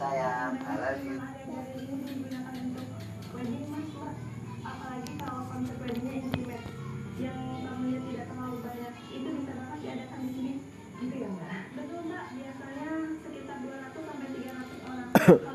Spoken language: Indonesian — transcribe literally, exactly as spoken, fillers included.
sayang, I love you. Apalagi kalau konsep weddingnya intimate yang tamunya tidak terlalu banyak, itu bisa banget diadakan di sini gitu ya mbak? Betul mbak, biasanya sekitar dua ratus sampai tiga ratus orang.